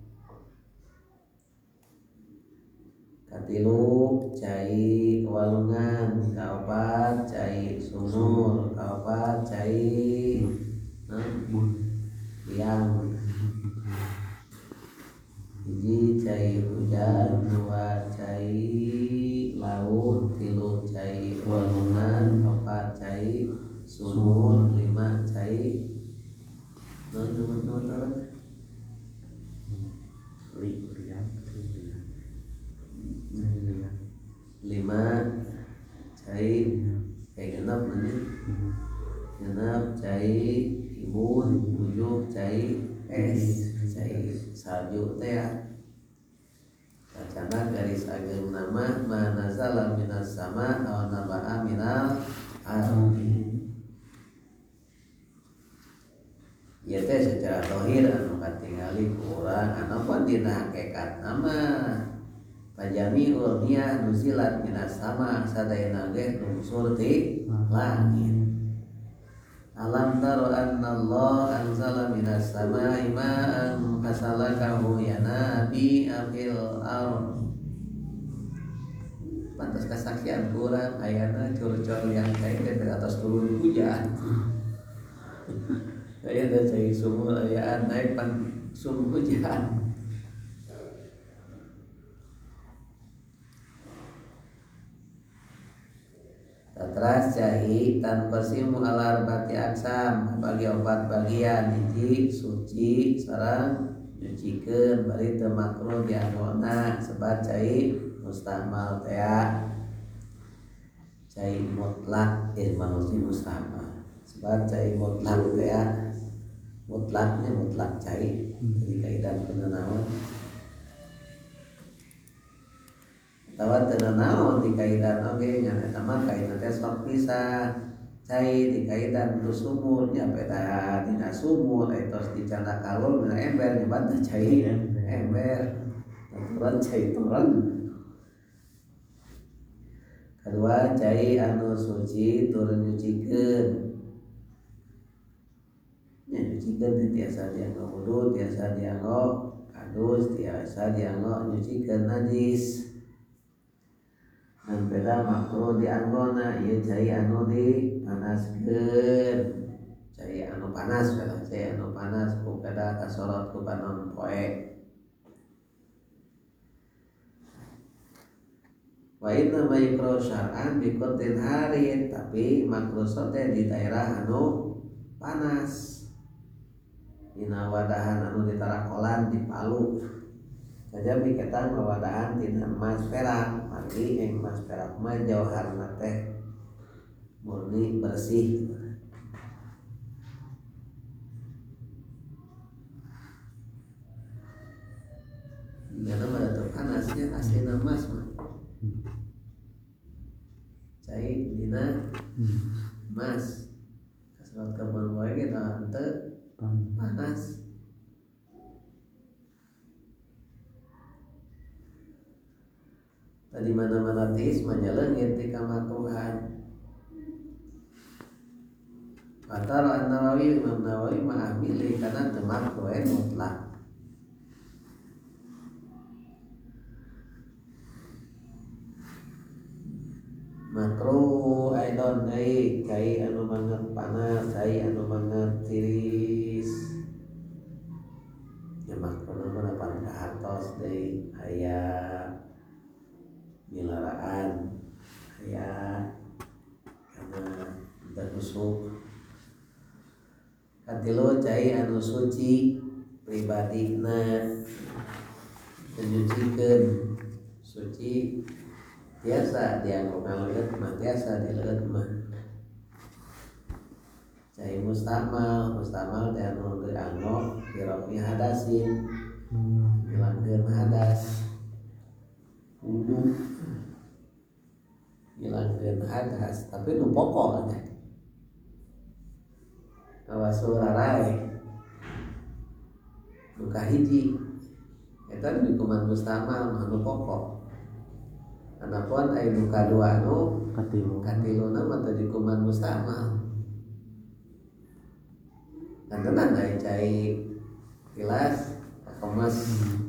Katilu cai walungan, kaopat cai sumur, kaopat cai liang. Hiji cai hujan, dua cai laut, tilu cai walungan, empat cai sumur, lima cai lima cai genep cai ibun, tujuh cai es, cai salju teh kacana garis ageng nama manazala minas sama aw naba'a minal ardi. Ieu teh secara zahir anu katingali ku urang anapan dina hakikat nama pajamiul miyah nuzilat minas sama sadayana ge unsur ti langit. Alam taro anna Allah anzala minas samai ma'an fasalakahu yanabi fil ardh. Pantas kasaksian kurang ayana curcol yang kain dari atas turun hujan. Aya da cai sumur ayaan naik pan sumur hujan. Tatras cai tanpa simu alar bati aksam bagi obat bagian hiji suci sareng nyucikeun bari teu makruh dianona sebat cai mustamal teh cai mutlak manusia mustamal sebat cai mutlak teh mutlaknya mutlak cai jadi kaidan penanawan tawa tenanawan di kaidan oge nya eta mah kaidan teh sok pisah cai di kaidan tu sumur nya peda dina sumur etos dicanda kalul dina ember nyebat cai ember turun cai turun. Kedua cai anu suci turun nyucikeun nya nyucikeun tiasa dianggo wudu tiasa dianggo kadus tiasa dianggo nyucikeun najis. Dan beda makruh dianggona ieu cai anu dipanaskeun cai anu panas beda cai anu panas ku beda kasorot ku panon poe. Wa inna ma yukra syar'an bi qatil harin tapi makruh teh di daerah anu panas dina wadahan anu ditarakolan di Palu saja piketan wadahan tina emas perak mari emas perak mah jauharna teh murni bersih. Karena emas mah cai dina emas kasrat kapan wae kita henteu panas. Tadi mana-mana teis mah leungit ti kamakruhan. Qatar An-Nawawi Imam Nawawi mah milih kana teu makruh mutlak. Makruh aidon deui cai anu banget panas, cai anu banget tiris. Ya makruh mah pan kahartos deui aya milaraan aya kana teu kusuk. Katilu cai anu suci pribadina menyucikeun suci biasa dianggo ngaleut mah biasa dileut mah. Cai mustamal teh anu dianggo dirofi hadasin ngilangkeun hadas wudu ngilangkeun hadas tapi nu pokok teh tawasul rarae nu kahiji eta di kuman mustamal mah nu pokok. Anapun aya nu kadua anu katiluna mah teu di kuman mustamal. Dan tenan aya cai tilas kemas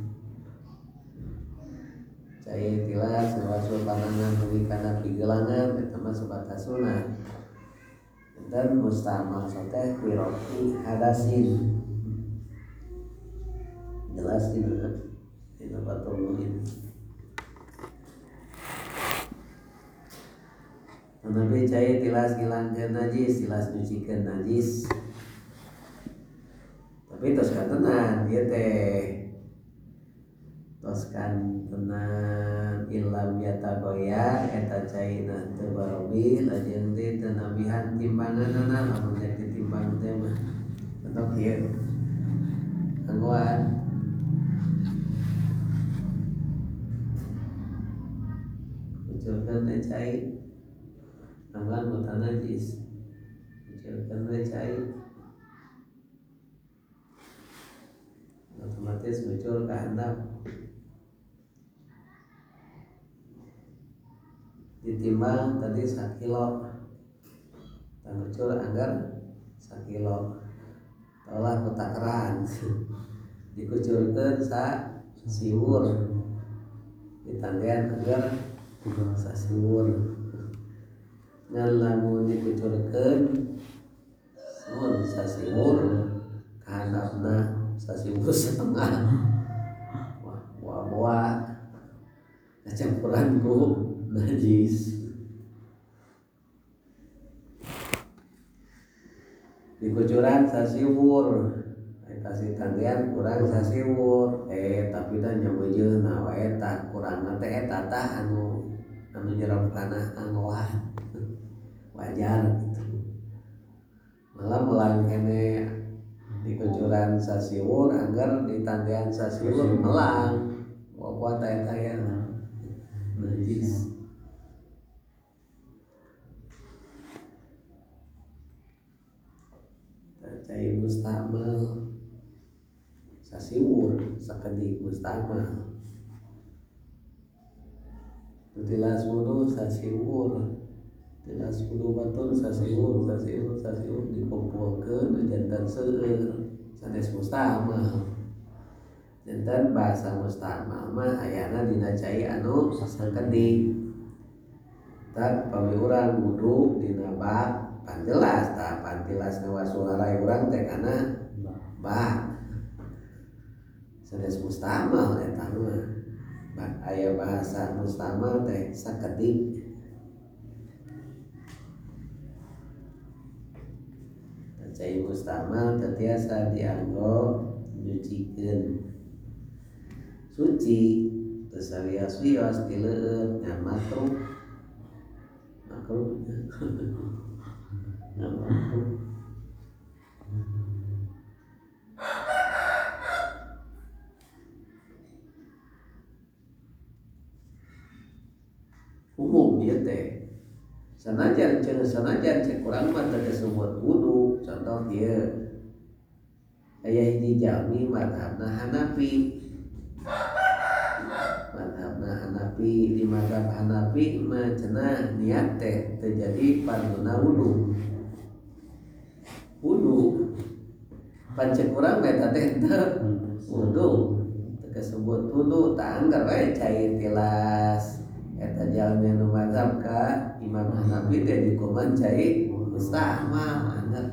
cai tilas ngawasul panangan nepi kana pigelangan eta mah sebatas sunah. Dan mustamal teh pirofi hadasin jelas dina batul muin. Nabi cai tilas ngilangkeun najis, tilas nyucikeun najis. Tapi tos kan tenan ieu teh. Tos kan tenan ilam yatagoya eta caina teu barobil ajeun teh teu nabihan timbanganna lamun rek ditimbang teh mah. Entok ieu. Anggoan ucurkeun teh cai anggoan botan najis. Ucurkeun teh cai otomatis muncul ka handap. Ditimbang tadi 1 kilo tangucur anggar 1 kilo olah ku takaran dikucurkeun siwur ditandean anggar sasiwur ngan lamun dikucurkeun mun sasiwur ka handapna sasiwur setengah wah kacampuran ku najis. Dikucuran sasiwur kasih tandian kurang sasiwur tapi dan nyabejeunna wae eta kurangna teh eta tah anu jerep kana anggoan wajar gitu. Malah melang kene dikucuran sasiwur anggar ditandean sasiwur melang kuat eta ya najis. Cai mustamal sasiwur sakedik mustamal tilas wudu sasiwur tilas wudu batur sasiwur dikumpulkeun janten seueur sanes mustamal. Janten bahasa mustamal mah ayana dina cai anu sakedik. Tak pami urang wudu dina bak pan jelas tah pan tilas ngawasul harai urang teh kana bak sanes mustamal eta mah aya bahasa mustamal teh sakedik. Cai mustamal teh tiasa dianggo nyucikeun suci teu sarios-rios ti leueur ngan makruh ieu teh sanajan cek urang mah teu disebut wudu. Contoh ieu aya hiji jalmi mazhabna Hanafi. Di mazhab Hanafi mah cenah niat teh teu jadi farduna wudu. Pancek urang eta teh teu wudu. Teu kasebut wudu, tah anggar we cai tilas eta jalmi nu mazhab ka Imam Hanafi teh dikuman cai musta'mal anggar.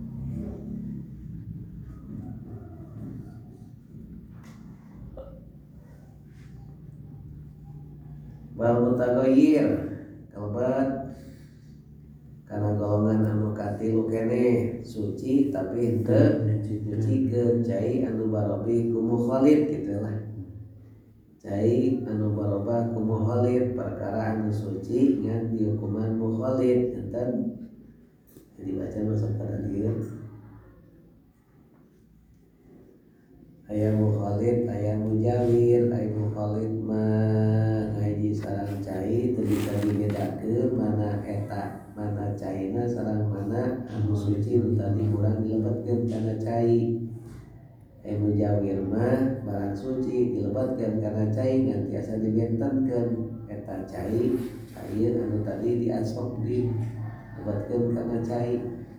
Wal mutaghayyir kalebet kana golongan anu katilu keneh suci tapi henteu nyucikeun cai anu barobih ku mukhalid kitu lah. Cai anu barobah ku mukhalid perkara anu suci ngan dihukuman mukhalid enten jadi baca masuk pada dieu. Aya mukhalid, aya mujawir, aya mukhalid mah ngaji sareng cai teu bisa dibedakeun mana eta, mana caina sareng mana anu suci nu tadi urang dilebetkeun kana cai. Aya mujawir mah barang suci dilebetkeun kana cai ngan tiasa dibentenkeun eta cai, ieu anu tadi diasok dilebetkeun kana cai.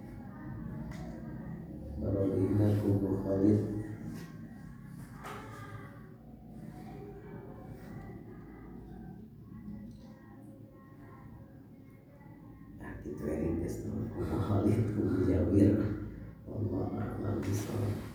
Barobihna ku mukhalid. Itu yang ku mukhalid ku mujawir. Wallahu a'lam bishawab.